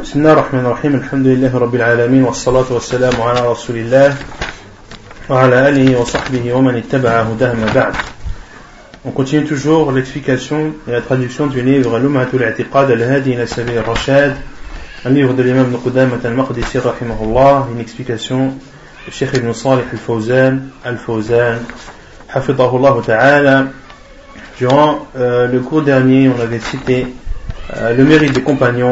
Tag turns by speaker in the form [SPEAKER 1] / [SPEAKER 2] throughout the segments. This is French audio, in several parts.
[SPEAKER 1] بسم الله الرحمن الرحيم الحمد لله رب العالمين والصلاة والسلام على رسول الله وعلى آله وصحبه ومن اتبع هداه ما بعد. On continue toujours l'explication et la traduction du livre Lum'atul I'tiqad al-Hadi ila Sabil al-Rashad, un livre de l'imam Ibn Qudamah al-Maqdisi rahimahullah, une explication du Cheikh Ibn Salih al-Fawzan hafidahullah ta'ala. Durant le cours dernier, on avait cité le mérite des compagnons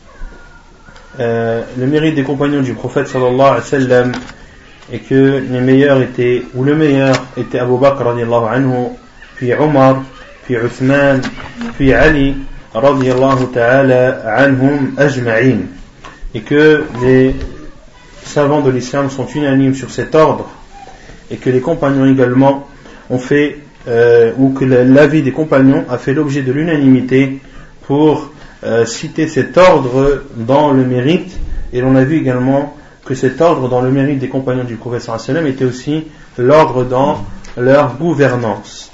[SPEAKER 1] du prophète sallallahu alayhi wa sallam, et que les meilleurs étaient, ou le meilleur était Abu Bakr radiyallahu anhu, puis Omar, puis Uthman, puis Ali radiyallahu ta'ala anhum ajma'in, et que les savants de l'islam sont unanimes sur cet ordre, et que les compagnons également ont fait ou que l'avis des compagnons a fait l'objet de l'unanimité pour citer cet ordre dans le mérite. Et l'on a vu également que cet ordre dans le mérite des compagnons du prophète sallallahu alayhi wa sallam était aussi l'ordre dans leur gouvernance.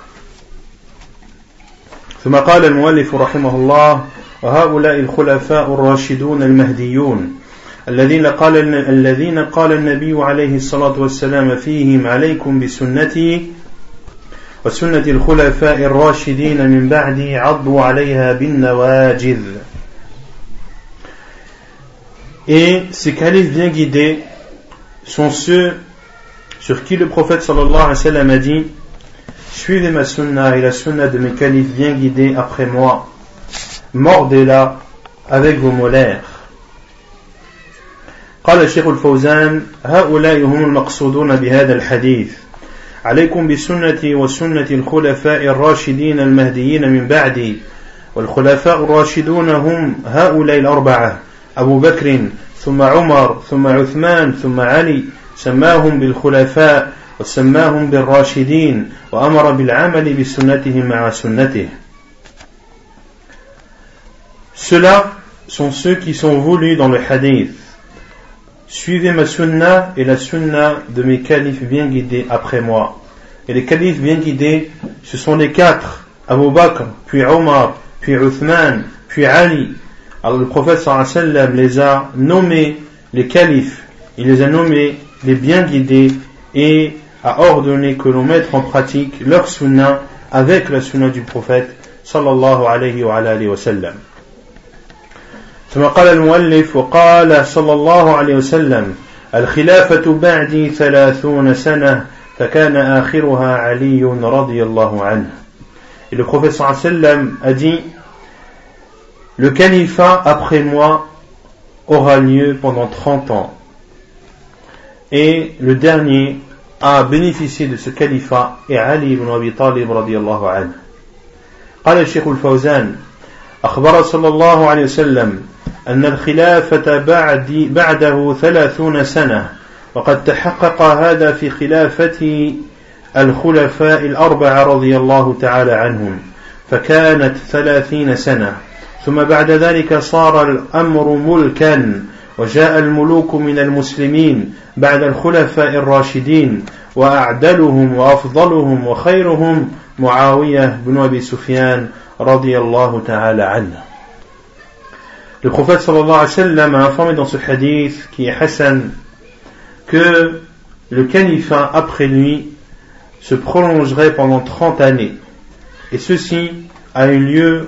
[SPEAKER 1] ثم قال المؤلف رحمه الله: وهؤلاء الخلفاء الراشدون المهديون الذين قال النبي عليه الصلاة والسلام فيهم عليكم بسنتي وسنة الخلفاء الراشدين من بعدي عضوا عليها بالنواجذ. Et ces califes bien guidés sont ceux sur qui le prophète sallallahu alayhi wa sallam a dit: suivez ma sunna et la sunna de mes califes bien guidés après moi, mordez-la avec vos molaires. قال الشيخ الفوزان: هؤلاء هم المقصودون بهذا الحديث عليكم بسنتي وسنة الخلفاء الراشدين المهديين من بعدي. والخلفاء الراشدون هم هؤلاء الأربعة: أبو بكر ثم عمر ثم عثمان ثم علي، سماهم بالخلفاء وسماهم بالراشدين وأمر بالعمل بسنتهم مع سنته. Ceux-là sont ceux qui sont voulus dans le hadith: suivez ma sunna et la sunna de mes califes bien guidés après moi. Et les califes bien guidés, ce sont les quatre: Abu Bakr, puis Omar, puis Uthman, puis Ali. Alors le prophète sallallahu alayhi wa sallam les a nommés les califes, il les a nommés les bien guidés, et a ordonné que l'on mette en pratique leur sunna avec la sunna du prophète sallallahu alayhi wa sallam. ثم قال المؤلف: وقال صلى الله عليه وسلم: الخلافة بعدي 30 سنة فكان آخرها علي رضي الله عنه. Et le prophète sallallahu alayhi wa sallam a dit: le califat après moi aura lieu pendant 30 ans, et le dernier a bénéficié de ce califat est Ali ibn Abi Talib رضي الله عنه. قال الشيخ الفوزان: أخبر صلى الله عليه وسلم أن الخلافة بعده 30 سنة، وقد تحقق هذا في خلافة الخلفاء الأربعة رضي الله تعالى عنهم، فكانت 30 سنة. ثم بعد ذلك صار الأمر ملكا، وجاء الملوك من المسلمين بعد الخلفاء الراشدين، وأعدلهم وأفضلهم وخيرهم معاوية بن أبي سفيان رضي الله تعالى عنه. Le prophète sallallahu alayhi wa sallam a informé dans ce hadith qui est Hassan que le califat après lui se prolongerait pendant 30 années, et ceci a eu lieu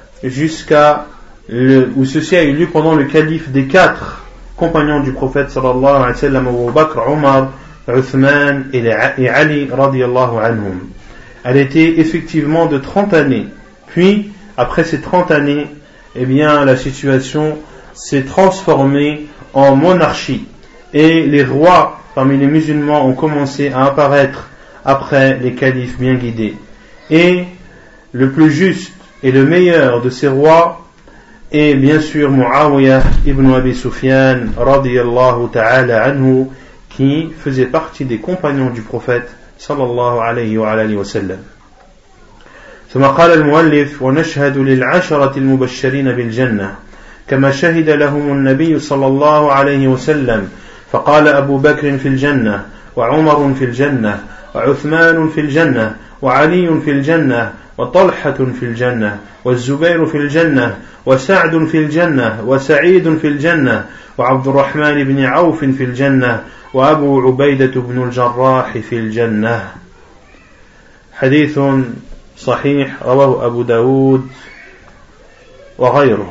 [SPEAKER 1] pendant le calife des quatre compagnons du prophète sallallahu alayhi wa sallam: Abu Bakr, Omar, Uthman et Ali radiyallahu anhum. Elle était effectivement de 30 années. Puis après ces 30 années, eh bien la situation s'est transformée en monarchie, et les rois parmi les musulmans ont commencé à apparaître après les califes bien guidés. Et le plus juste et le meilleur de ces rois est bien sûr Muawiyah ibn Abi Sufyan radiyallahu ta'ala anhu, qui faisait partie des compagnons du prophète sallallahu alayhi wa sallam. ثم قال المؤلف: ونشهد للعشرة المبشرين بالجنة كما شهد لهم النبي صلى الله عليه وسلم، فقال أبو بكر في الجنة، وعمر في الجنة، وعثمان في الجنة، وعلي في الجنة، وطلحة في الجنة والزبير في الجنة وسعد في الجنة وسعيد في الجنة وعبد الرحمن بن عوف في الجنة وأبو عبيدة بن الجراح في الجنة. حديث صحيح رواه أبو داود وغيره.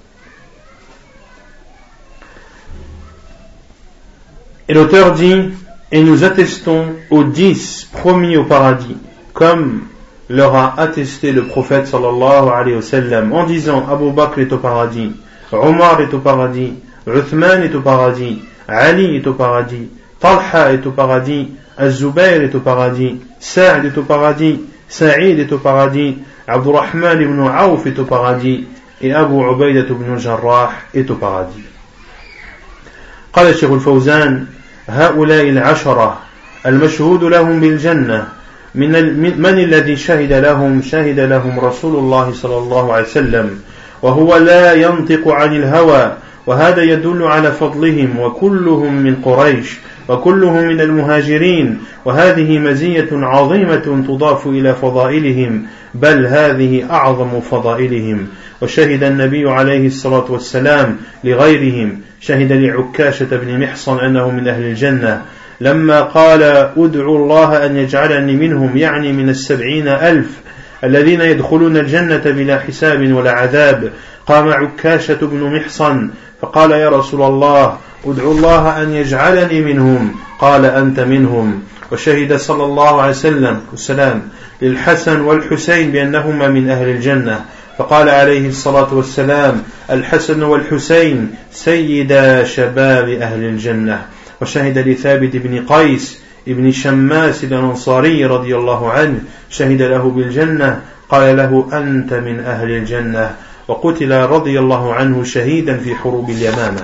[SPEAKER 1] Et l'auteur dit, et nous attestons aux 10 promis au paradis, comme leur a attesté le prophète sallallahu alayhi wa sallam, en disant Abu Bakr est au paradis, Omar est au paradis, Uthman est au paradis, Ali est au paradis, Talha est au paradis, Az-Zubayr est au paradis, Sa'd est au paradis, Sa'id est au paradis, Abdurrahman ibn Auf est au paradis, et Abu Ubaidah ibn al-Jarrah est au paradis. قال الشيخ الفوزان هؤلاء العشرة المشهود لهم بالجنة من الذي شهد لهم رسول الله صلى الله عليه وسلم وهو لا ينطق عن الهوى وهذا يدل على فضلهم وكلهم من قريش وكلهم من المهاجرين وهذه مزية عظيمة تضاف إلى فضائلهم بل هذه أعظم فضائلهم. وشهد النبي عليه الصلاة والسلام لغيرهم شهد لعكاشة بن محصن أنه من أهل الجنة لما قال أدعو الله أن يجعلني منهم يعني من 70,000 الذين يدخلون الجنة بلا حساب ولا عذاب. قام عكاشة بن محصن فقال يا رسول الله ادعو الله أن يجعلني منهم قال أنت منهم. وشهد صلى الله عليه وسلم للحسن والحسين بأنهما من أهل الجنة فقال عليه الصلاة والسلام الحسن والحسين سيدا شباب أهل الجنة. وشهد لثابت بن قيس ابن شماس الأنصاري رضي الله عنه شهد له بالجنة قال له أنت من أهل الجنة وقتل رضي الله عنه شهيدا في حروب اليمامة.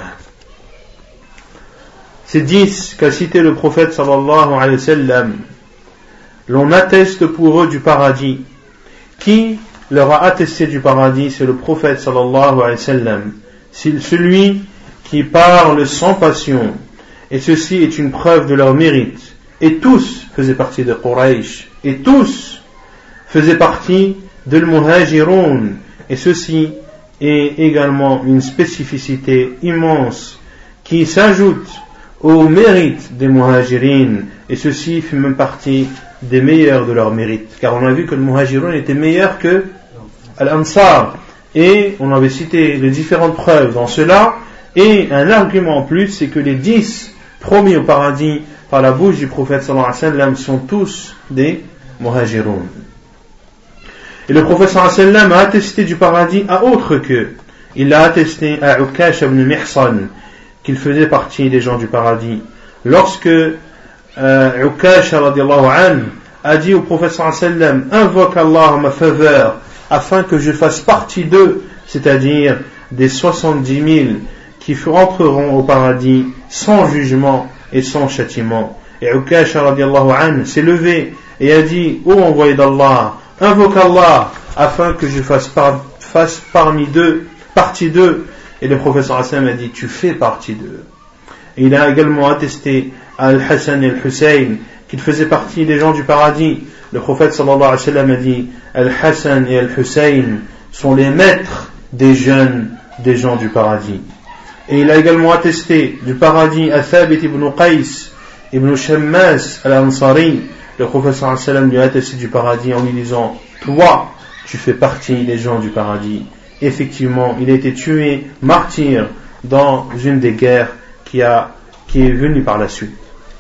[SPEAKER 1] Ces 10 qu'a cité le prophète sallallahu alayhi wa sallam, l'on atteste pour eux du paradis. Qui leur a attesté du paradis? C'est le prophète sallallahu alayhi wa sallam. C'est celui qui parle sans passion. Et ceci est une preuve de leur mérite. Et tous faisaient partie de Quraysh. Et tous faisaient partie de l'Muhajirun. Et ceci est également une spécificité immense qui s'ajoute au mérite des Muhajirin. Et ceci fait même partie des meilleurs de leur mérite. Car on a vu que le Muhajirun était meilleur que l'Ansar. Et on avait cité les différentes preuves dans cela. Et un argument en plus, c'est que les 10 promis au paradis par la bouche du prophète sallallahu alayhi wa sallam sont tous des Muhajirun. Et le prophète sallallahu alayhi wa sallam a attesté du paradis à autre qu'eux. Il l'a attesté à Ukash ibn Mihsan qu'il faisait partie des gens du paradis. Lorsque Ukash radiallahu anhu a dit au prophète sallallahu alayhi wa sallam invoque Allah en ma faveur afin que je fasse partie d'eux, c'est-à-dire des 70 000 qui entreront au paradis sans jugement et sans châtiment. Et Ukash radiallahu anhu s'est levé et a dit ô envoyé d'Allah, invoque Allah afin que je fasse partie d'eux. Et le prophète sallallahu alayhi wa sallam a dit tu fais partie d'eux. Et il a également attesté à Al-Hassan et Al-Hussein qu'ils faisaient partie des gens du paradis. Le prophète sallallahu alayhi wa sallam a dit Al-Hassan et Al-Hussein sont les maîtres des jeunes des gens du paradis. Et il a également attesté du paradis à Thabit ibn Qais ibn Shammas al-Ansari. Le prophète sallallahu alayhi wa sallam lui a attesté du paradis en lui disant toi tu fais partie des gens du paradis. Effectivement, il a été tué, martyr, dans une des guerres qui est venue par la suite.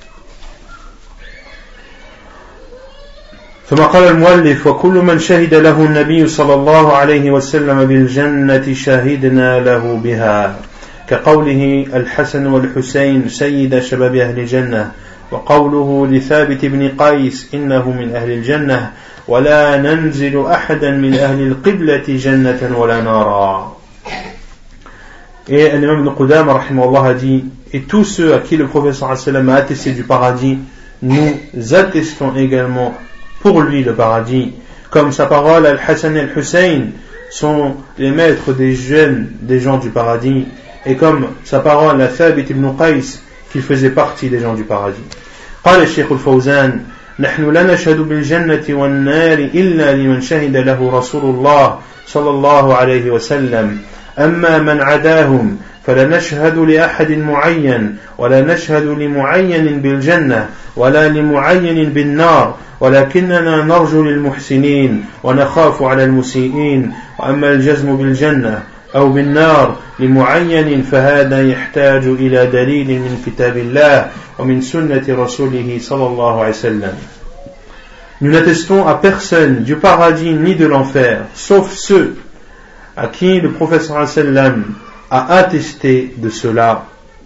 [SPEAKER 1] ثم قال المؤلف وكل من شهد له النبي صلى الله عليه وسلم بالجنة شهدنا له بها كقوله الحسن والحسين سيد شباب أهل الجنة وقوله لثابت بن قيس إنه من أهل الجنة ولا ننزل أحدا من أهل القبلة جنة ولا نارا. Et l'imam Ibn Qudama rahimahullah a dit et tous ceux à qui le prophète sallallahu alayhi wa sallam a attesté du paradis nous attestons également pour lui le paradis, comme sa parole Al-Hassan et Al-Hussein sont les maîtres des jeunes des gens du paradis, et comme sa parole à Thabit ibn Qais qu'il faisait partie des gens du paradis. قال الشيخ الفوزان نحن لا نشهد بالجنة والنار إلا لمن شهد له رسول الله صلى الله عليه وسلم أما من عداهم فلا نشهد لأحد معين ولا نشهد لمعين بالجنة ولا لمعين بالنار ولكننا نرجو للمحسنين ونخاف على المسيئين وأما الجزم بالجنة أو بالنار لمعين فهذا يحتاج إلى دليل من كتاب الله ومن سنة رسوله صلى الله عليه وسلم. Nous n'attestons à personne du paradis ni de l'enfer, sauf ceux à qui le prophète sallallahu alayhi wa sallam a attesté de cela.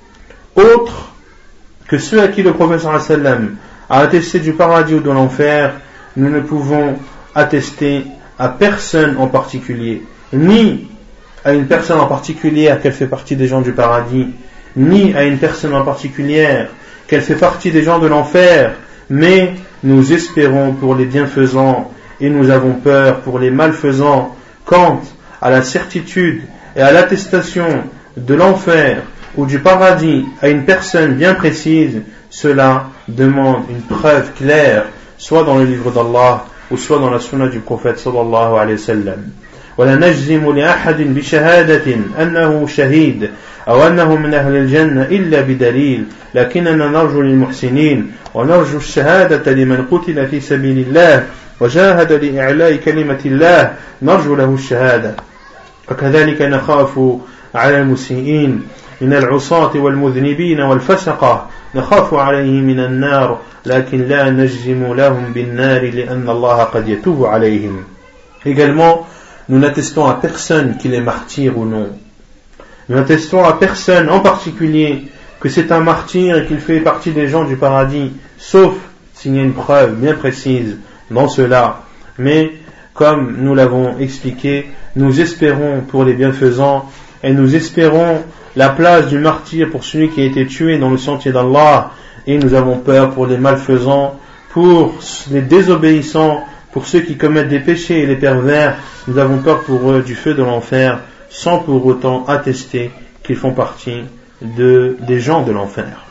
[SPEAKER 1] Autres que ceux à qui le prophète sallallahu alayhi wa sallam a attesté du paradis ou de l'enfer, nous ne pouvons attester à personne en particulier, ni à une personne en particulier qu'elle fait partie des gens du paradis, ni à une personne en particulière qu'elle fait partie des gens de l'enfer, mais nous espérons pour les bienfaisants et nous avons peur pour les malfaisants. Quant à la certitude et à l'attestation de l'enfer ou du paradis à une personne bien précise, cela demande une preuve claire, soit dans le livre d'Allah ou soit dans la sunna du prophète sallallahu alayhi wa sallam. ولا نجزم لأحد بشهادة أنه شهيد أو أنه من أهل الجنة إلا بدليل لكننا نرجو للمحسنين ونرجو الشهادة لمن قتل في سبيل الله وجاهد لإعلاء كلمة الله نرجو له الشهادة وكذلك نخاف على المسيئين من العصاة والمذنبين والفسقة نخاف عليه من النار لكن لا نجزم لهم بالنار لأن الله قد يتوب عليهم. Également, nous n'attestons à personne qu'il est martyr ou non. Nous n'attestons à personne en particulier que c'est un martyr et qu'il fait partie des gens du paradis, sauf s'il y a une preuve bien précise dans cela. Mais, comme nous l'avons expliqué, nous espérons pour les bienfaisants et nous espérons la place du martyr pour celui qui a été tué dans le sentier d'Allah, et nous avons peur pour les malfaisants, pour les désobéissants, pour ceux qui commettent des péchés et les pervers. Nous avons peur pour eux du feu de l'enfer, sans pour autant attester qu'ils font partie des gens de l'enfer.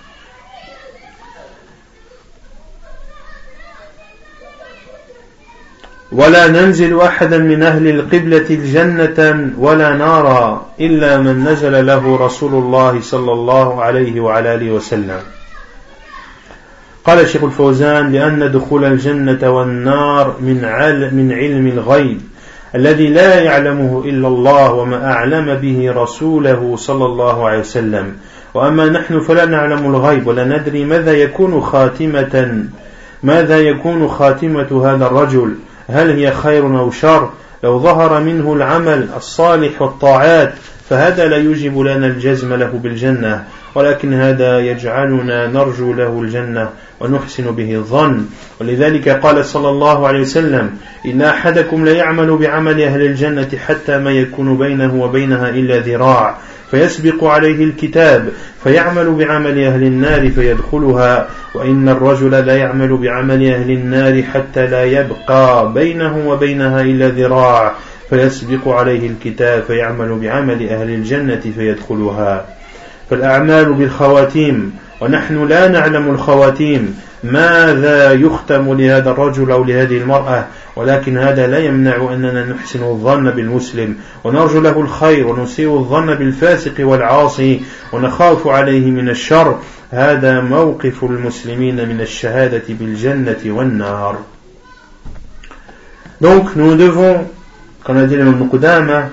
[SPEAKER 1] ولا ننزل أحدا من أهل القبلة الجنة ولا نارا إلا من نزل له رسول الله صلى الله عليه وعلى آله وسلم. قال الشيخ الفوزان لأن دخول الجنة والنار من علم الغيب الذي لا يعلمه إلا الله وما أعلم به رسوله صلى الله عليه وسلم وأما نحن فلا نعلم الغيب ولا ندري ماذا يكون خاتمة هذا الرجل هل هي خير أو شر لو ظهر منه العمل الصالح والطاعات فهذا لا يوجب لنا الجزم له بالجنة ولكن هذا يجعلنا نرجو له الجنة ونحسن به الظن ولذلك قال صلى الله عليه وسلم إن أحدكم لا يعمل بعمل أهل الجنة حتى ما يكون بينه وبينها إلا ذراع فيسبق عليه الكتاب فيعمل بعمل أهل النار فيدخلها وإن الرجل لا يعمل بعمل أهل النار حتى لا يبقى بينه وبينها إلا ذراع فيسبق عليه الكتاب فيعمل بعمل أهل الجنة فيدخلها. فالأعمال بالخواتيم ونحن لا نعلم الخواتيم ماذا يختم لهذا الرجل أو لهذه المرأة ولكن هذا لا يمنع أننا نحسن الظن بالمسلم ونرجو له الخير ونسيء الظن بالفاسق والعاصي ونخاف عليه من الشر هذا موقف المسلمين من الشهادة بالجنة والنار. Donc nous devons, comme a dit l'imam Qudama,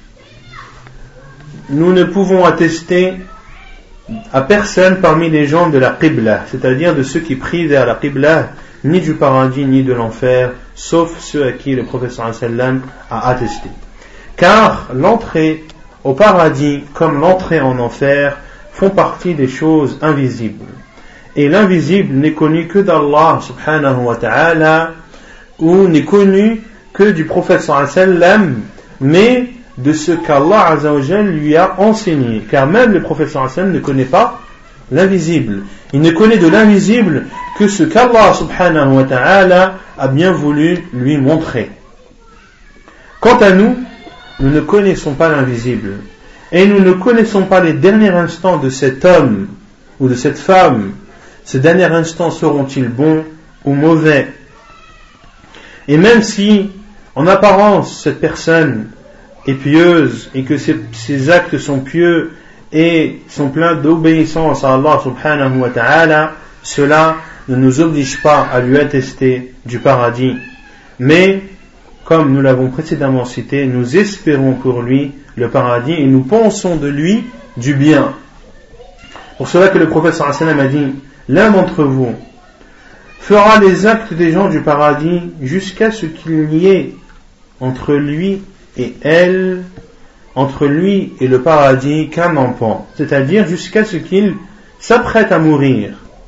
[SPEAKER 1] nous ne pouvons attester à personne parmi les gens de la Qibla, c'est-à-dire de ceux qui prient vers la Qibla, ni du paradis ni de l'enfer, sauf ceux à qui le prophète sallallahu alayhi wa sallam a attesté. Car l'entrée au paradis comme l'entrée en enfer font partie des choses invisibles. Et l'invisible n'est connu que d'Allah subhanahu wa ta'ala, ou n'est connu que du prophète sallallahu alayhi wa sallam, mais de ce qu'Allah azza wa jalla lui a enseigné. Car même le prophète sallallahu alayhi wa sallam ne connaît pas l'invisible. Il ne connaît de l'invisible que ce qu'Allah subhanahu wa ta'ala a bien voulu lui montrer. Quant à nous, nous ne connaissons pas l'invisible. Et nous ne connaissons pas les derniers instants de cet homme ou de cette femme. Ces derniers instants seront-ils bons ou mauvais. Et même si, en apparence, cette personne est pieuse et que ses actes sont pieux et sont pleins d'obéissance à Allah subhanahu wa ta'ala, cela ne nous oblige pas à lui attester du paradis. Mais, comme nous l'avons précédemment cité, nous espérons pour lui le paradis et nous pensons de lui du bien. Pour cela que le prophète sallallahu alayhi wa sallam a dit, l'un d'entre vous fera les actes des gens du paradis jusqu'à ce qu'il n'y ait entre lui et elle, entre lui et le paradis, qu'un empan, c'est-à-dire jusqu'à ce qu'il s'apprête à mourir.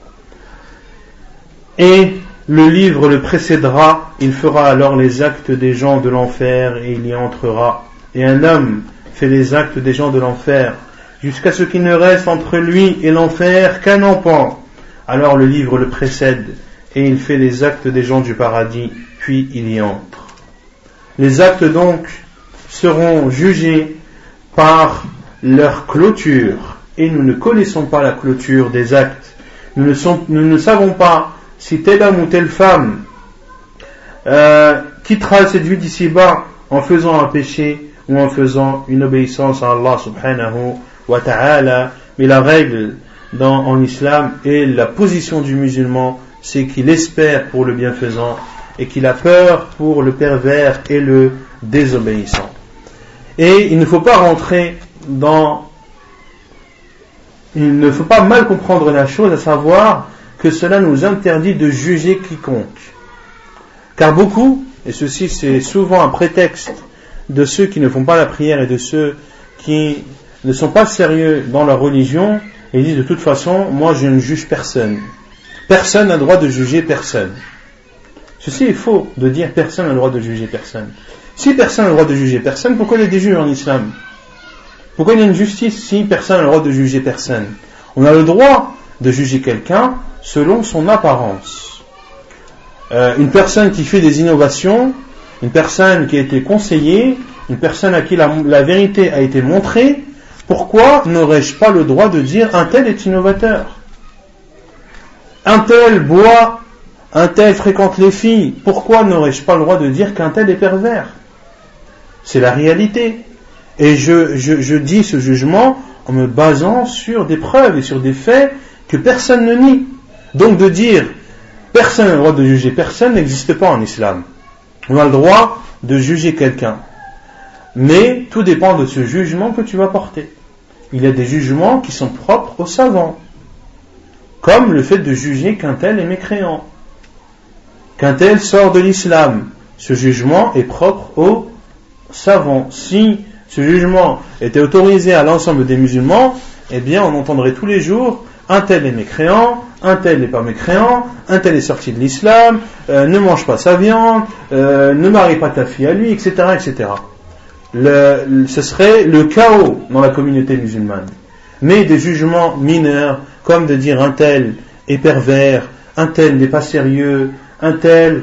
[SPEAKER 1] Et le livre le précédera, il fera alors les actes des gens de l'enfer et il y entrera. Et un homme fait les actes des gens de l'enfer jusqu'à ce qu'il ne reste entre lui et l'enfer qu'un empan. Alors le livre le précède et il fait les actes des gens du paradis, puis il y entre. Les actes donc seront jugés par leur clôture et nous ne connaissons pas la clôture des actes. Nous ne savons pas si tel homme ou telle femme quittera cette vie d'ici-bas en faisant un péché ou en faisant une obéissance à Allah subhanahu wa ta'ala. Mais la règle en islam et la position du musulman, c'est qu'il espère pour le bienfaisant et qu'il a peur pour le pervers et le désobéissant. Et il ne faut pas il ne faut pas mal comprendre la chose, à savoir que cela nous interdit de juger quiconque. Car beaucoup, et ceci c'est souvent un prétexte de ceux qui ne font pas la prière et de ceux qui ne sont pas sérieux dans leur religion, et disent de toute façon, moi je ne juge personne. Personne n'a le droit de juger personne. Ceci est faux de dire personne n'a le droit de juger personne. Si personne n'a le droit de juger personne, pourquoi il y a des juges en islam? Pourquoi il y a une justice si personne n'a le droit de juger personne? On a le droit de juger quelqu'un selon son apparence. Une personne qui fait des innovations, une personne qui a été conseillée, une personne à qui la vérité a été montrée, pourquoi n'aurais-je pas le droit de dire un tel est innovateur? Un tel boit, un tel fréquente les filles, pourquoi n'aurais-je pas le droit de dire qu'un tel est pervers? C'est la réalité. Et je dis ce jugement en me basant sur des preuves et sur des faits que personne ne nie. Donc de dire personne n'a le droit de juger personne n'existe pas en islam. On a le droit de juger quelqu'un. Mais tout dépend de ce jugement que tu vas porter. Il y a des jugements qui sont propres aux savants. Comme le fait de juger qu'un tel est mécréant. Qu'un tel sort de l'islam. Ce jugement est propre aux savants. Si ce jugement était autorisé à l'ensemble des musulmans, eh bien on entendrait tous les jours un tel est mécréant, un tel n'est pas mécréant, un tel est sorti de l'islam, ne mange pas sa viande, ne marie pas ta fille à lui, etc. etc. Ce serait le chaos dans la communauté musulmane. Mais des jugements mineurs, comme de dire un tel est pervers, un tel n'est pas sérieux, un tel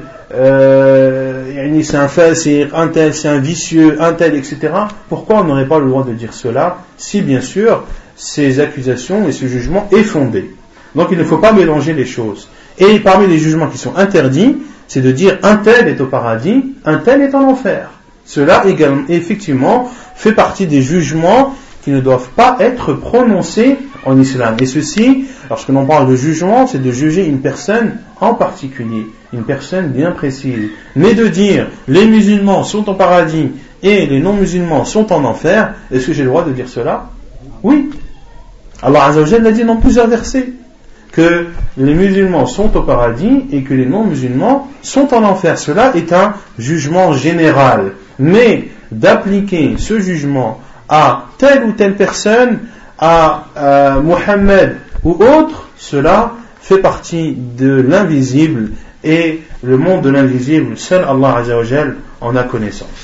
[SPEAKER 1] c'est un fasir, un tel c'est un vicieux, un tel, etc. Pourquoi on n'aurait pas le droit de dire cela si bien sûr ces accusations et ce jugement est fondé? Donc il ne faut pas mélanger les choses. Et parmi les jugements qui sont interdits, c'est de dire un tel est au paradis, un tel est en enfer. Cela également, effectivement, fait partie des jugements qui ne doivent pas être prononcés en islam. Et ceci, lorsque l'on parle de jugement, c'est de juger une personne en particulier, une personne bien précise. Mais de dire les musulmans sont au paradis et les non-musulmans sont en enfer, est-ce que j'ai le droit de dire cela? Oui. Allah Azza wa Jalla l'a dit dans plusieurs versets que les musulmans sont au paradis et que les non-musulmans sont en enfer. Cela est un jugement général. Mais d'appliquer ce jugement à telle ou telle personne, à Mohammed ou autre, cela fait partie de l'invisible et le monde de l'invisible, seul Allah Azza wa Jalla en a connaissance.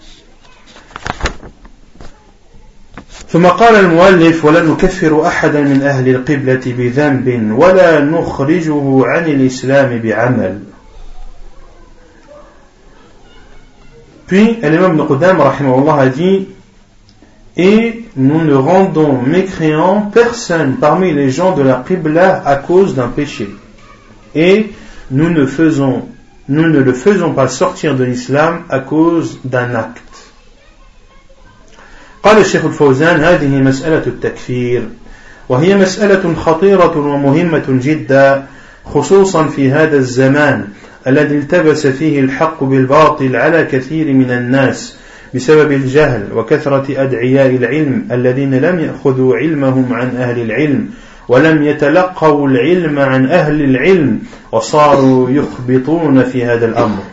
[SPEAKER 1] ثم قال المؤلف ولا نكفر أحدا من أهل القبلة بذنب ولا نخرجه عن الإسلام بعمل. Puis l'imam Ibn Qudam rahimahullah a dit, et nous ne rendons mécréant personne parmi les gens de la Qibla à cause d'un péché, et nous ne le faisons pas sortir de l'islam à cause d'un acte. قال الشيخ الفوزان هذه مسألة التكفير وهي مسألة خطيرة ومهمة جدا خصوصا في هذا الزمان الذي التبس فيه الحق بالباطل على كثير من الناس بسبب الجهل وكثرة أدعياء العلم الذين لم يأخذوا علمهم عن أهل العلم ولم يتلقوا العلم عن أهل العلم وصاروا يخبطون في هذا الأمر.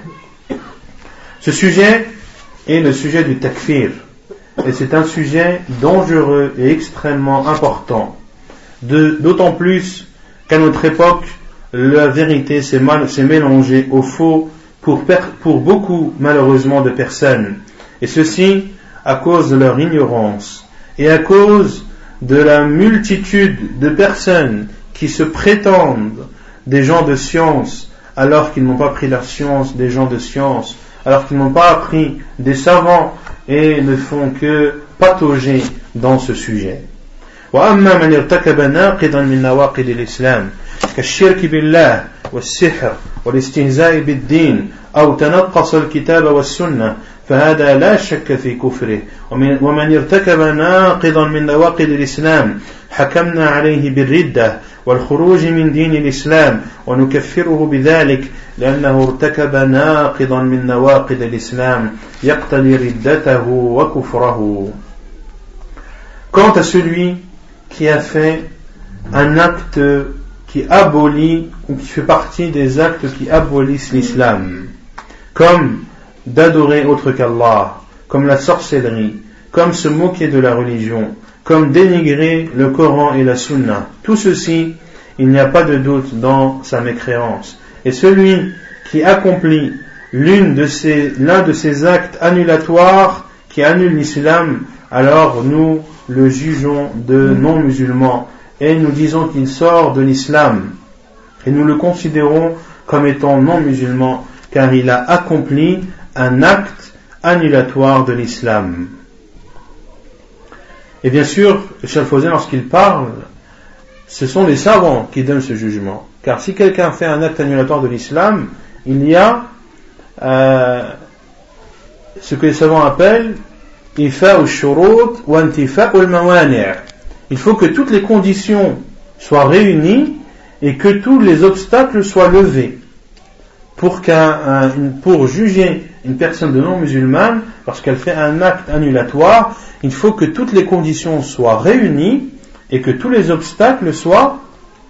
[SPEAKER 1] Ce sujet est le sujet du takfir. Et c'est un sujet dangereux et extrêmement important. D'autant plus qu'à notre époque, la vérité s'est mélangée au faux pour beaucoup, malheureusement, de personnes. Et ceci à cause de leur ignorance et à cause de la multitude de personnes qui se prétendent des gens de science alors qu'ils n'ont pas pris la science des gens de science, alors qu'ils n'ont pas appris des savants et ne font que patauger dans ce sujet. وأما من ارتكب ناقضا من نواقض الإسلام كالشرك بالله والسحر والاستهزاء بالدين أو تنقص الكتاب والسنة فهذا لا شك في كفره ومن ارتكب ناقضا من نواقض الإسلام حكمنا عليه بالردة والخروج من دين الإسلام ونكفره بذلك لأنه ارتكب ناقضا من نواقض الإسلام يقتضي ردته وكفره. Quant à celui qui a fait un acte qui abolit ou qui fait partie des actes qui abolissent l'islam, comme d'adorer autre qu'Allah, comme la sorcellerie, comme se moquer de la religion, comme dénigrer le Coran et la Sunna, tout ceci, il n'y a pas de doute dans sa mécréance. Et celui qui accomplit l'un de ces actes annulatoires qui annulent l'islam, alors nous le jugeons de non-musulman et nous disons qu'il sort de l'islam et nous le considérons comme étant non-musulman car il a accompli un acte annulatoire de l'islam. Et bien sûr, le Cheikh Fawzan, lorsqu'il parle, ce sont les savants qui donnent ce jugement, car si quelqu'un fait un acte annulatoire de l'islam, il y a ce que les savants appellent ifa'u shurut wa intifa'u al-mawani'. Il faut que toutes les conditions soient réunies et que tous les obstacles soient levés pour juger une personne de non-musulmane lorsqu'elle fait un acte annulatoire. Il faut que toutes les conditions soient réunies et que tous les obstacles soient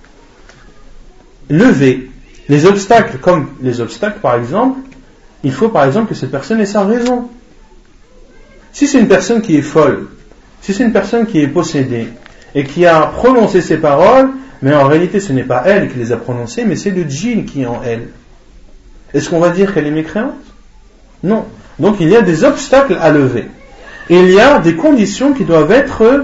[SPEAKER 1] levés. Les obstacles, comme les obstacles par exemple, il faut par exemple que cette personne ait sa raison. Si c'est une personne qui est folle, si c'est une personne qui est possédée et qui a prononcé ces paroles, mais en réalité ce n'est pas elle qui les a prononcées, mais c'est le djinn qui est en elle, est-ce qu'on va dire qu'elle est mécréante? Non. Donc il y a des obstacles à lever. Il y a des conditions qui doivent être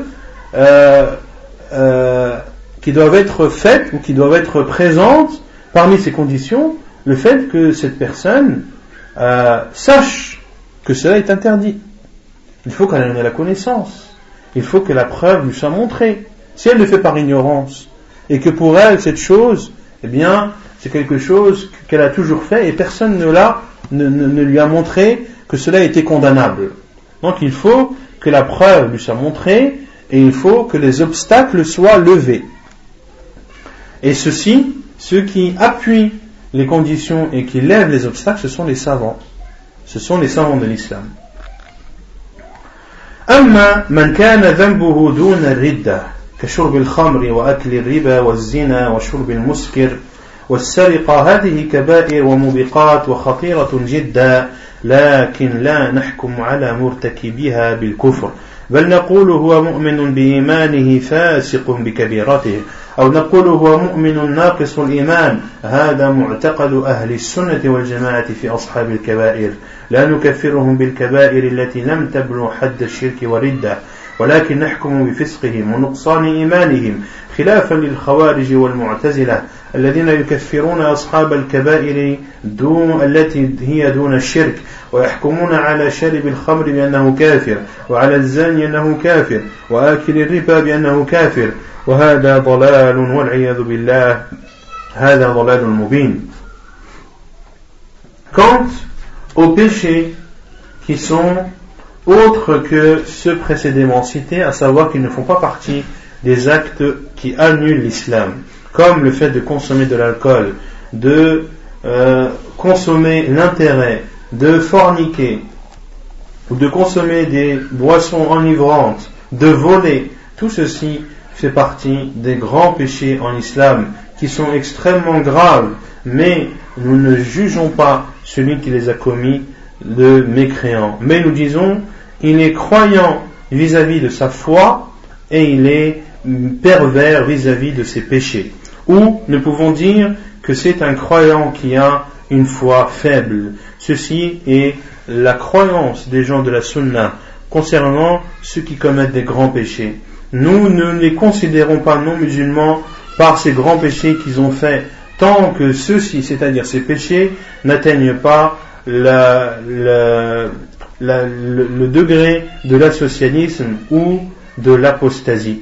[SPEAKER 1] faites ou qui doivent être présentes. Parmi ces conditions, le fait que cette personne sache que cela est interdit. Il faut qu'elle en ait la connaissance. Il faut que la preuve lui soit montrée. Si elle le fait par ignorance et que pour elle cette chose, eh bien, c'est quelque chose qu'elle a toujours fait et personne ne lui a montré que cela était condamnable. Donc il faut que la preuve lui soit montrée et il faut que les obstacles soient levés. Et ceux qui appuient les conditions et qui lèvent les obstacles, ce sont les savants. Ce sont les savants de l'islam. أما من كان ذنبه دون الردة كشرب الخمر وأكل الربا والزنا وشرب المسكر والسرقة هذه كبائر وموبقات وخطيرة جدا لكن لا نحكم على مرتكبها بالكفر بل نقول هو مؤمن بإيمانه فاسق بكبيرته أو نقول هو مؤمن ناقص الإيمان هذا معتقد أهل السنة والجماعة في أصحاب الكبائر لا نكفرهم بالكبائر التي لم تبلغ حد الشرك والردة ولكن نحكم بفسقهم ونقصان إيمانهم خلافا للخوارج والمعتزلة الذين يكفرون أصحاب الكبائر التي هي دون الشرك ويحكمون على شارب الخمر بأنه كافر وعلى الزاني أنه كافر وآكل الربا بأنه كافر وهذا ضلال والعياذ بالله هذا ضلال مبين. Quant aux péchés qui sont autres que ceux précédemment cités, à savoir qu'ils ne font pas partie des actes qui annulent l'islam, comme le fait de consommer de l'alcool, de consommer l'intérêt, de forniquer, ou de consommer des boissons enivrantes, de voler, tout ceci fait partie des grands péchés en islam qui sont extrêmement graves, mais nous ne jugeons pas celui qui les a commis de mécréant. Mais nous disons, il est croyant vis-à-vis de sa foi et il est pervers vis-à-vis de ses péchés. Ou nous pouvons dire que c'est un croyant qui a une foi faible. Ceci est la croyance des gens de la sunna concernant ceux qui commettent des grands péchés. Nous ne les considérons pas non musulmans par ces grands péchés qu'ils ont faits, tant que ceux-ci, c'est-à-dire ces péchés, n'atteignent pas le degré de l'associanisme ou de l'apostasie.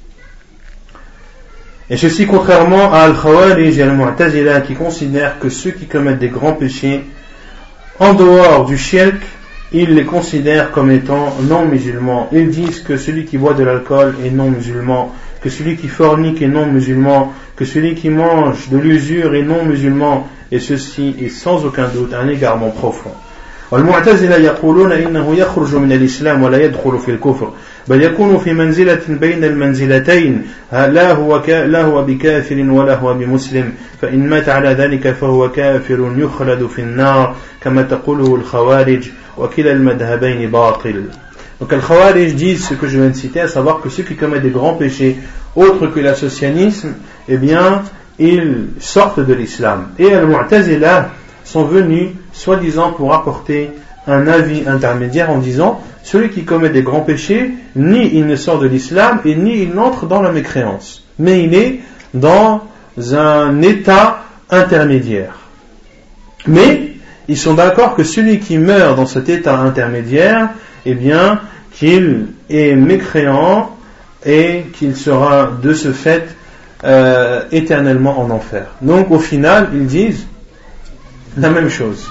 [SPEAKER 1] Et ceci contrairement à Al-Khawarij et Al-Mu'tazila qui considèrent que ceux qui commettent des grands péchés en dehors du shirk, ils les considèrent comme étant non musulmans. Ils disent que celui qui boit de l'alcool est non musulman, que celui qui fornique est non musulman, que celui qui mange de l'usure est non musulman, et ceci est sans aucun doute un égarement profond. والمعتزلة يقولون إنه يخرج من الإسلام ولا يدخل في الكفر بل يكون في منزلة بين المنزلتين لا هو بكافر ولا هو بمسلم فإن مات على ذلك فهو كافر يخلد في النار كما تقوله الخوارج وكلا المذهبين باطل. Donc les Khawarij disent ce que je viens de citer, à savoir que ceux qui commettent des grands péchés autres que l'associanisme, eh bien ils sortent de l'islam. Et les Mu'tazila sont venus soi-disant pour apporter un avis intermédiaire en disant celui qui commet des grands péchés, ni il ne sort de l'islam et ni il n'entre dans la mécréance, mais il est dans un état intermédiaire. Mais ils sont d'accord que celui qui meurt dans cet état intermédiaire, eh bien qu'il est mécréant et qu'il sera de ce fait éternellement en enfer. Donc au final ils disent la même chose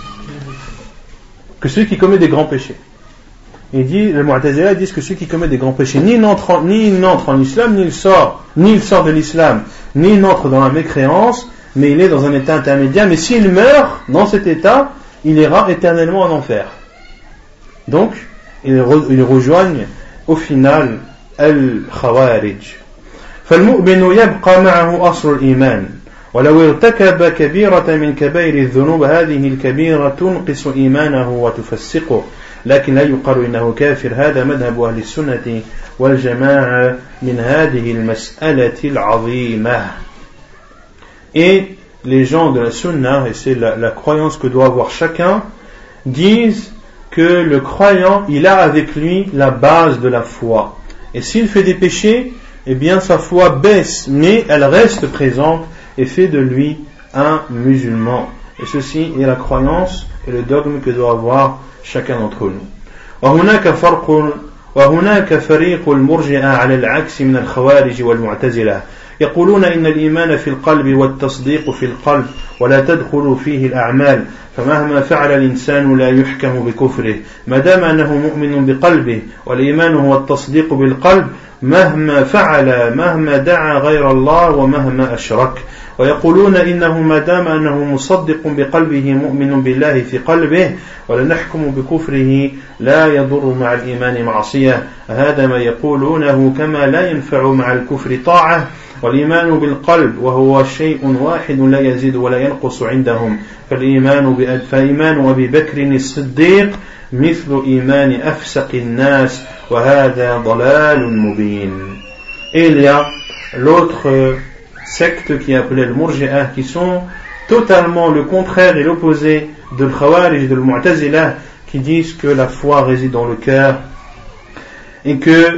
[SPEAKER 1] que ceux qui commettent des grands péchés. Les Mu'tazila disent que ceux qui commettent des grands péchés ni n'entrent en islam, ni il sort de l'islam, ni il n'entre dans la mécréance, mais il est dans un état intermédiaire. Mais s'il meurt dans cet état, il ira éternellement en enfer. Donc ils rejoignent au final al-Khawarij. فالمؤمن يبقى معه أصل الإيمان ولو ارتكب كبيرة من كبائر الذنوب هذه الكبيرة تنقص إيمانه وتفسقه لكن لا يقال إنه كافر. هذا مذهب أهل السنة والجماعة من هذه المسألة العظيمة. Et les gens de la sunna, et c'est la croyance que doit avoir chacun, disent que le croyant, il a avec lui la base de la foi. Et s'il fait des péchés, eh bien sa foi baisse, mais elle reste présente et fait de lui un musulman. Et ceci est la croyance et le dogme que doit avoir chacun d'entre nous. وهناك فريق المرجئة على العكس من الخوارج والمعتزلة يقولون إن الإيمان في القلب والتصديق في القلب ولا تدخل فيه الأعمال فمهما فعل الإنسان لا يحكم بكفره ما دام أنه مؤمن بقلبه والإيمان هو التصديق بالقلب مهما فعل مهما دعا غير الله ومهما أشرك. ويقولون إنه ما دام أنه مصدق بقلبه مؤمن بالله في قلبه ولا نحكم بكفره لا يضر مع الإيمان معصية. هذا ما يقولونه كما لا ينفع مع الكفر طاعة والإيمان بالقلب وهو شيء واحد لا يزيد ولا ينقص عندهم فإيمان أبي بكر الصديق مثل إيمان أفسق الناس وهذا ضلال مبين. Et il y a l'autre secte qui est appelée le Murji'ah, qui sont totalement le contraire et l'opposé de l'Khawarij et de l'Mu'tazila, qui disent que la foi réside dans le cœur et que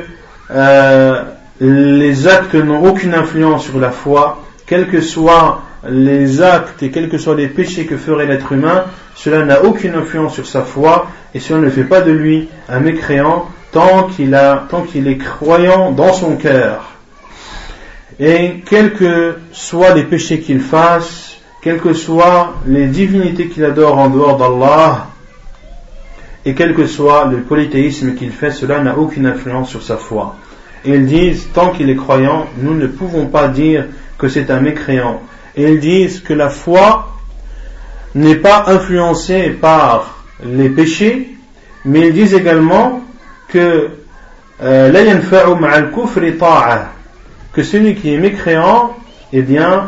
[SPEAKER 1] les actes n'ont aucune influence sur la foi, quels que soient les actes et quels que soient les péchés que ferait l'être humain, cela n'a aucune influence sur sa foi et cela ne fait pas de lui un mécréant tant qu'il est croyant dans son cœur. Et quels que soient les péchés qu'il fasse, quelles que soient les divinités qu'il adore en dehors d'Allah, et quel que soit le polythéisme qu'il fait, cela n'a aucune influence sur sa foi. Et ils disent, tant qu'il est croyant, nous ne pouvons pas dire que c'est un mécréant. Et ils disent que la foi n'est pas influencée par les péchés, mais ils disent également que la yanfa'u ma'al kufri ta'a, que celui qui est mécréant, eh bien,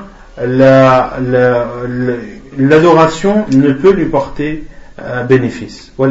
[SPEAKER 1] l'adoration ne peut lui porter bénéfice. Pour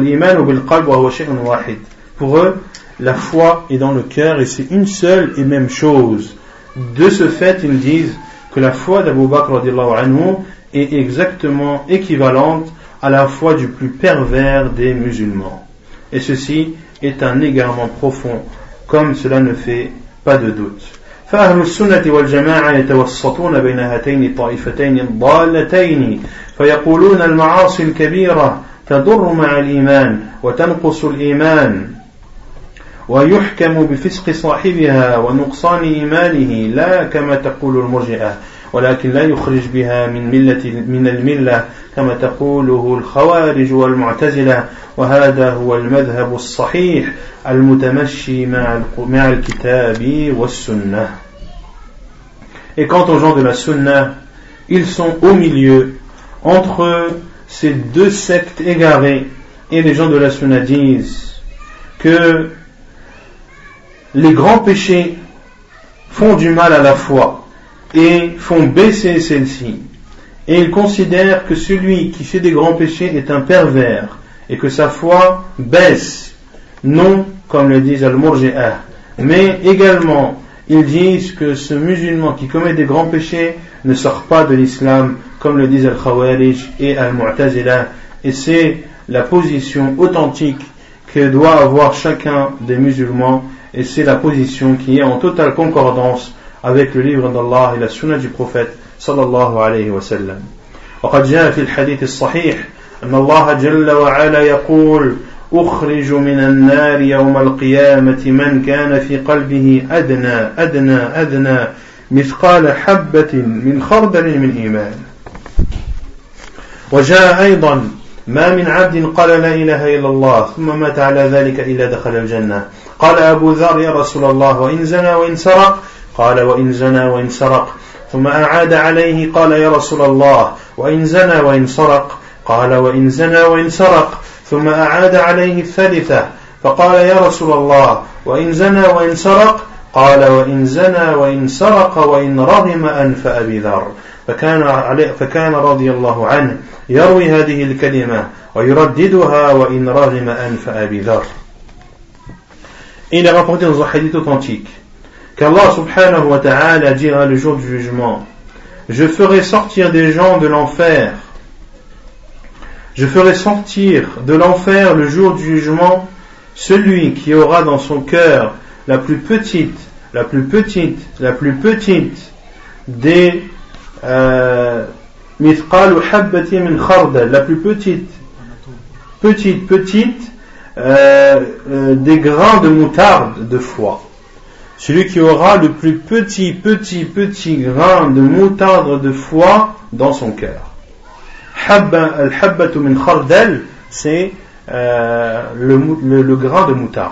[SPEAKER 1] eux, la foi est dans le cœur et c'est une seule et même chose. De ce fait, ils disent que la foi d'Abu Bakr radiallahu anhu est exactement équivalente à la foi du plus pervers des musulmans. Et ceci est un égarement profond, comme cela ne fait pas de doute. فأهل السنة والجماعة يتوسطون بين هاتين الطائفتين الضالتين فيقولون المعاصي الكبيرة تضر مع الإيمان وتنقص الإيمان ويحكم بفسق صاحبها ونقصان إيمانه لا كما تقول المرجئة ولكن لا يخرج بها من الملة كما تقوله الخوارج والمعتزلة وهذا هو المذهب الصحيح المتمشي مع الكتاب والسنة. Et quant aux gens de la sunna, ils sont au milieu entre ces deux sectes égarées, et les gens de la sunna disent que les grands péchés font du mal à la foi et font baisser celle-ci, et ils considèrent que celui qui fait des grands péchés est un pervers et que sa foi baisse, non comme le disent al-Murji'ah, mais également ils disent que ce musulman qui commet des grands péchés ne sort pas de l'islam comme le disent al-Khawarij et al-Mu'tazila, et c'est la position authentique que doit avoir chacun des musulmans, et c'est la position qui est en totale concordance avec le livre d'Allah et la sunna du prophète sallallahu alayhi wa sallam. وقد جاء في الحديث الصحيح أن الله جل وعلا يقول أخرج من النار يوم القيامة من كان في قلبه أدنى مثقال حبة من خردل من إيمان. وجاء أيضا ما من عبد قال لا إله إلا الله ثم مات على ذلك إلا دخل الجنة. قال أبو ذر يا رسول الله وإن زنى وإن سرق؟ قال وإن زنى وإن سرق. ثم أعاد عليه قال يا رسول الله وإن زنى وإن سرق؟ قال وإن زنى وإن سرق. ثم أعاد عليه الثالثة فقال يا رسول الله وإن زنى وإن سرق؟ قال وإن زنى وإن سرق وإن رغم أنف أبي ذر. فكان رضي الله عنه يروي هذه الكلمة ويرددها وإن رغم أنف أبي ذر. Il est rapporté dans un hadith authentique qu'Allah subhanahu wa ta'ala dira le jour du jugement: je ferai sortir des gens de l'enfer. Je ferai sortir de l'enfer le jour du jugement celui qui aura dans son cœur la plus petite des mithqal habbati min khardal, la plus petite des grains de moutarde de foi. Celui qui aura le plus petit grain de moutarde de foi dans son cœur. Al-habbatu min khardal, c'est le grain de moutarde.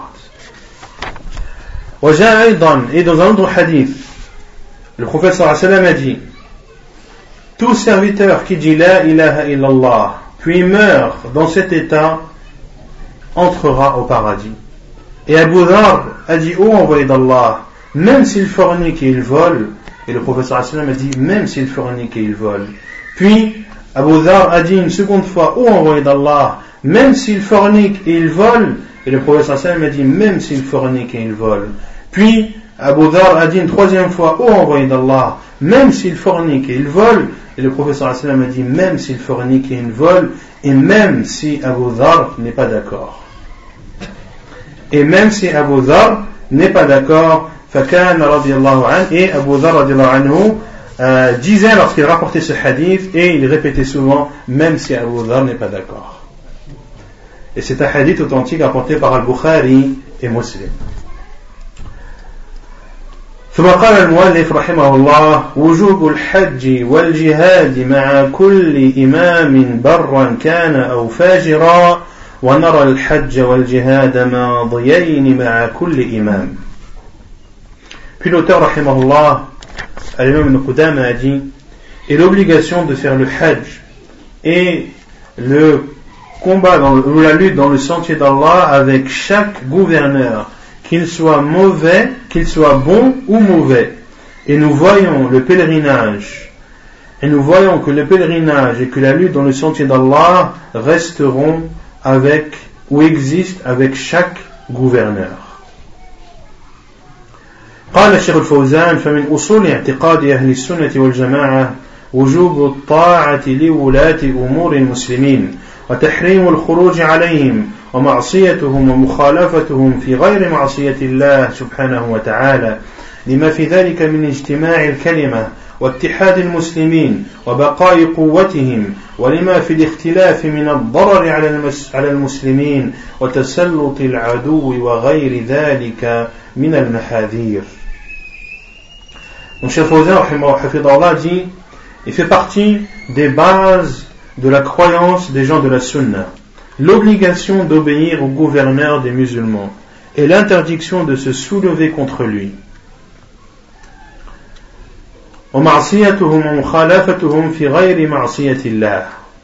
[SPEAKER 1] Et dans un autre hadith, le prophète sallallahu alayhi wa sallam a dit: tout serviteur qui dit la ilaha illallah puis meurt dans cet état entrera au paradis. Et Abu Dhar a dit: ô envoyé d'Allah, même s'il fornique et il vole. Et le prophète sallallahu alayhi wa sallam a dit: même s'il fornique et il vole. Puis Abu Dhar a dit une seconde fois: ô envoyé d'Allah, même s'il fornique et il vole. Et le prophète sallallahu alayhi wa sallam a dit: même s'il fornique et il vole. Puis Abu Dhar a dit une troisième fois: ô envoyé d'Allah, même s'il fornique et il vole. Et le prophète sallallahu alayhi wa sallam a dit: même s'il fornique et il vole, et même si Abu Dhar n'est pas d'accord. Et même si Abu Dhar n'est pas d'accord, فكان رضي الله عنه, et Abu Dhar رضي الله عنه disait lorsqu'il rapportait ce hadith, et il répétait souvent: même si Abu Dhar n'est pas d'accord. Et c'est un hadith authentique apporté par Al-Bukhari et Muslim. ثم قال المؤلف رحمه الله وجوب الحج والجهاد مع كل إمام برا كان أو فاجرا ونرى الحج والجهاد ماضيين مع كل إمام. Puis l'auteur rahimahullah, al-Imam Ibn Qudama a dit, et l'obligation de faire le hajj et le combat ou la lutte dans le sentier d'Allah avec chaque gouverneur, qu'il soit mauvais, qu'il soit bon ou mauvais. Et nous voyons le pèlerinage, et nous voyons que le pèlerinage et que la lutte dans le sentier d'Allah resteront avec, ou existent avec chaque gouverneur. قال الشيخ الفوزان فمن أصول اعتقاد أهل السنة والجماعة وجوب الطاعة لولاة أمور المسلمين وتحريم الخروج عليهم ومعصيتهم ومخالفتهم في غير معصية الله سبحانه وتعالى لما في ذلك من اجتماع الكلمة واتحاد المسلمين وبقاء قوتهم ولما في الاختلاف من الضرر على المسلمين وتسلط العدو وغير ذلك من المحاذير. Donc Cheikh Fawzan hafidhahullah dit, il fait partie des bases de la croyance des gens de la sunna, l'obligation d'obéir au gouverneur des musulmans et l'interdiction de se soulever contre lui. ومعصيتهم ومخالفتهم في غير معصية الله.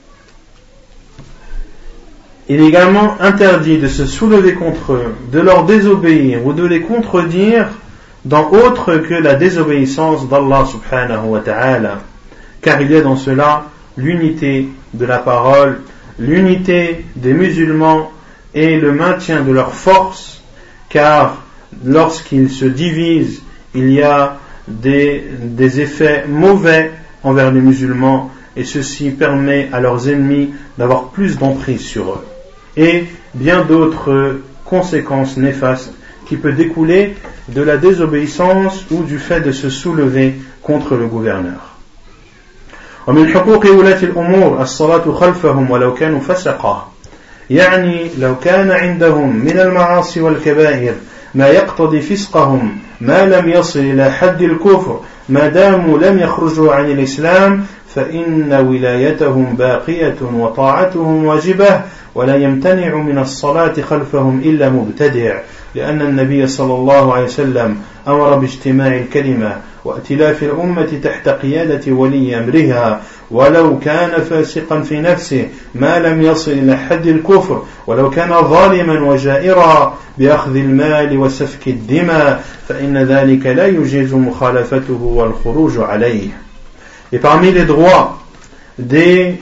[SPEAKER 1] Il est également interdit de se soulever contre eux, de leur désobéir ou de les contredire dans autre que la désobéissance d'Allah subhanahu wa ta'ala, car il y a dans cela l'unité de la parole, l'unité des musulmans et le maintien de leur force, car lorsqu'ils se divisent, il y a des effets mauvais envers les musulmans et ceci permet à leurs ennemis d'avoir plus d'emprise sur eux et bien d'autres conséquences néfastes qui peuvent découler de la désobéissance ou du fait de se soulever contre le gouverneur. ومن حقوق ولاة الأمور الصلاة خلفهم ولو كانوا فسقا يعني لو كان عندهم من المعاصي والكبائر ما يقتضي فسقهم ما لم يصل إلى حد الكفر ما داموا لم يخرجوا عن الإسلام فإن ولايتهم باقية وطاعتهم واجبة ولا يمتنع من الصلاة خلفهم إلا مبتدع لأن النبي صلى الله عليه وسلم أمر باجتماع الكلمة وائتلاف الأمة تحت قيادة ولي أمرها ولو كان فاسقا في نفسه ما لم يصل إلى حد الكفر ولو كان ظالما وجائرا بأخذ المال وسفك الدماء فإن ذلك لا يجيز مخالفته والخروج عليه. Et parmi les droits des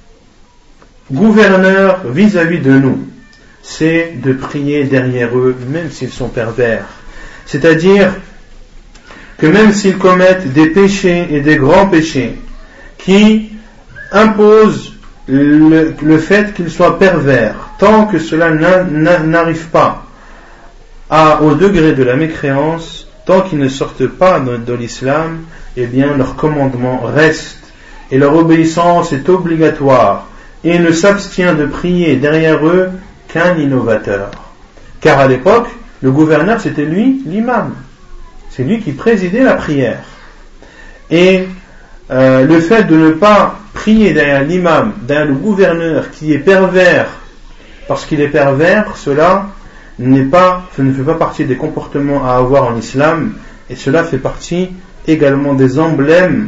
[SPEAKER 1] gouverneurs vis-à-vis de nous, c'est de prier derrière eux, même s'ils sont pervers. C'est-à-dire que même s'ils commettent des péchés et des grands péchés qui imposent le fait qu'ils soient pervers, tant que cela n'arrive pas au degré de la mécréance, tant qu'ils ne sortent pas de l'islam, eh bien leur commandement reste et leur obéissance est obligatoire et ne s'abstient de prier derrière eux qu'un innovateur. Car à l'époque, le gouverneur c'était lui, l'imam. C'est lui qui présidait la prière. Et le fait de ne pas prier derrière l'imam, derrière le gouverneur qui est pervers, parce qu'il est pervers, cela ne fait pas partie des comportements à avoir en islam, et cela fait partie également des emblèmes,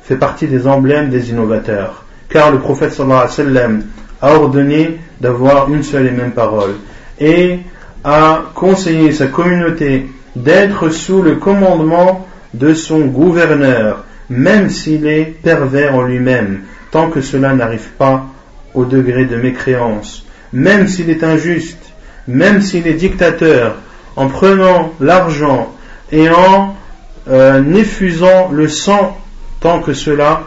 [SPEAKER 1] des innovateurs. Car le prophète sallallahu alayhi wa sallam a ordonné d'avoir une seule et même parole, et a conseillé sa communauté d'être sous le commandement de son gouverneur, même s'il est pervers en lui-même, tant que cela n'arrive pas au degré de mécréance, même s'il est injuste, même s'il est dictateur, en prenant l'argent et en effusant le sang, tant que cela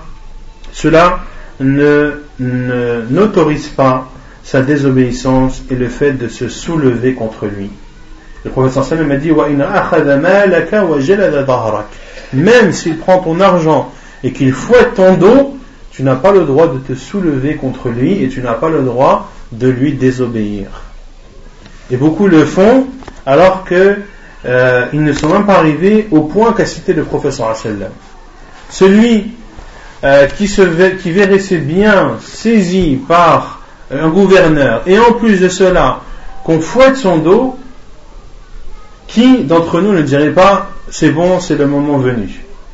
[SPEAKER 1] n'autorise pas sa désobéissance et le fait de se soulever contre lui. Le prophète sallallahu alayhi wa sallam a dit même s'il prend ton argent et qu'il fouette ton dos, tu n'as pas le droit de te soulever contre lui et tu n'as pas le droit de lui désobéir. Et beaucoup le font alors que ils ne sont même pas arrivés au point qu'a cité le prophète sallallahu alayhi wa sallam. Celui qui verrait ses biens saisis par un gouverneur, et en plus de cela, qu'on fouette son dos, qui d'entre nous ne dirait pas c'est bon, c'est le moment venu?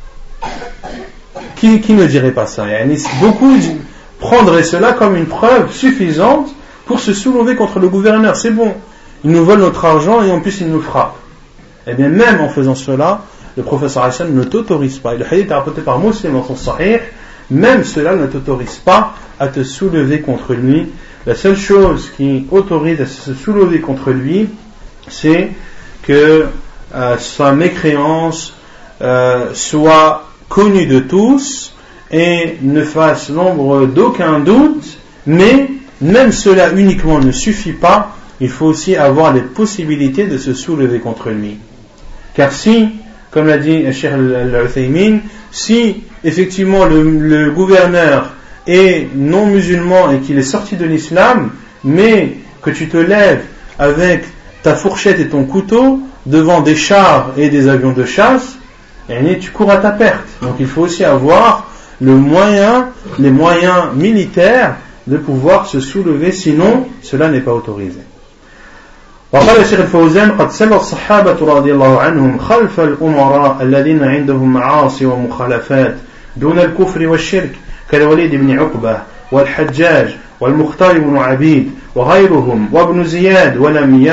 [SPEAKER 1] Qui ne dirait pas ça? Beaucoup prendraient cela comme une preuve suffisante pour se soulever contre le gouverneur. C'est bon, il nous vole notre argent et en plus il nous frappe. Eh bien, même en faisant cela, le prophète sallallahu alayhi wa sallam ne t'autorise pas. Et le hadith est rapporté par Muslim dans son Sahih. Même cela ne t'autorise pas à te soulever contre lui. La seule chose qui autorise à se soulever contre lui, c'est que sa mécréance soit connue de tous et ne fasse l'ombre d'aucun doute. Mais même cela uniquement ne suffit pas. Il faut aussi avoir les possibilités de se soulever contre lui. Car si, comme l'a dit Cheikh Al-Uthaymin, si effectivement le gouverneur est non musulman et qu'il est sorti de l'islam, mais que tu te lèves avec ta fourchette et ton couteau devant des chars et des avions de chasse, et tu cours à ta perte. Donc il faut aussi avoir les moyens militaires de pouvoir se soulever, sinon cela n'est pas autorisé. وقال الشيخ الفوزان قد سل الصحابة رضي الله عنهم خلف الأمراء الذين عندهم معاصي ومخالفات دون الكفر والشرك كالوليد بن عقبة والحجاج والمختار بن عبيد وغيرهم وابن زياد ولم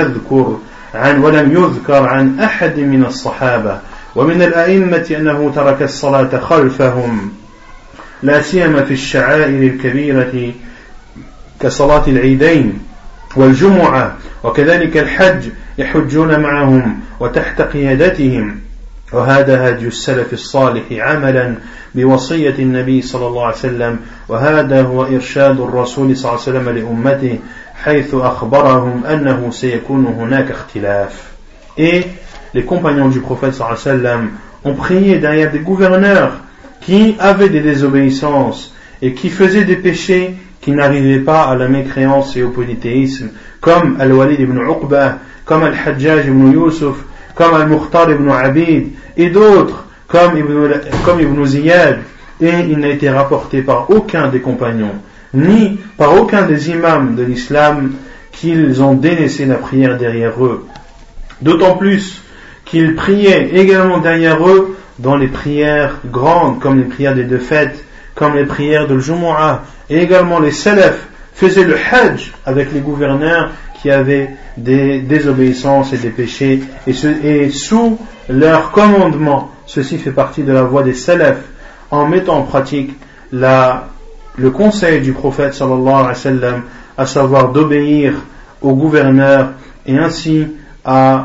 [SPEAKER 1] يذكر عن أحد من الصحابة ومن الأئمة أنه ترك الصلاة خلفهم لا سيما في الشعائر الكبيرة كصلاة العيدين والجمعة وكذلك الحج يحجون معهم وتحت قيادتهم وهذا هدي السلف الصالح عملا بوصية النبي صلى الله عليه وسلم وهذا هو إرشاد الرسول صلى الله عليه وسلم لأمته حيث أخبرهم أنه سيكون هناك اختلاف. Et les compagnons du prophète صلى الله عليه وسلم ont prié derrière des gouverneurs qui avaient des désobéissances et qui faisaient des péchés qui n'arrivaient pas à la mécréance et au polythéisme, comme Al-Walid ibn Uqba, comme Al-Hajjaj ibn Yusuf, comme Al-Mukhtar ibn Abid, et d'autres, comme Ibn Ziyad. Et il n'a été rapporté par aucun des compagnons, ni par aucun des imams de l'islam, qu'ils ont délaissé la prière derrière eux. D'autant plus qu'ils priaient également derrière eux dans les prières grandes, comme les prières des deux fêtes, comme les prières de l'Jumu'ah, et également les salafs faisaient le hajj avec les gouverneurs qui avaient des désobéissances et des péchés, et sous leur commandement. Ceci fait partie de la voie des salafs, en mettant en pratique le conseil du prophète sallallahu alayhi wa sallam, à savoir d'obéir aux gouverneurs et ainsi à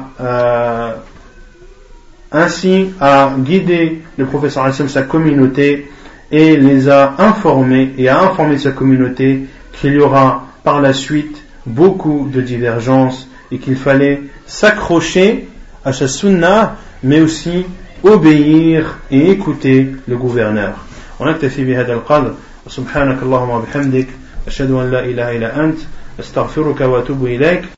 [SPEAKER 1] guider le prophète sallallahu alayhi wa sallam, sa communauté, et les a informés et a informé sa communauté qu'il y aura par la suite beaucoup de divergences et qu'il fallait s'accrocher à sa sunnah mais aussi obéir et écouter le gouverneur. ونكتفي بهذا القدر وسبحانك اللهم وبحمدك أشهد أن لا إله إلا أنت أستغفرك وأتوب إليك.